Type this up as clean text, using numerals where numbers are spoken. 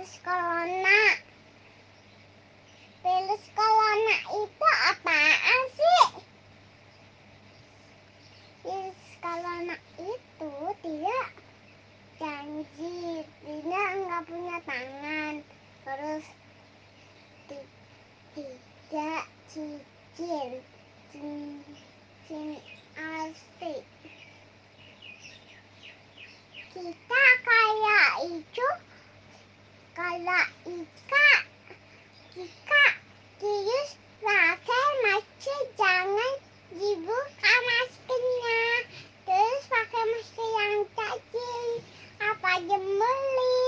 Virus corona. Virus corona itu apaan sih? Virus corona itu dia janji, dia nggak punya tangan, terus tidak cicil, asli. Kita kayak itu, kayak Ika. Virus pakai masker, jangan dibuka maskernya. Terus pakai masker yang kecil, apa jembeli.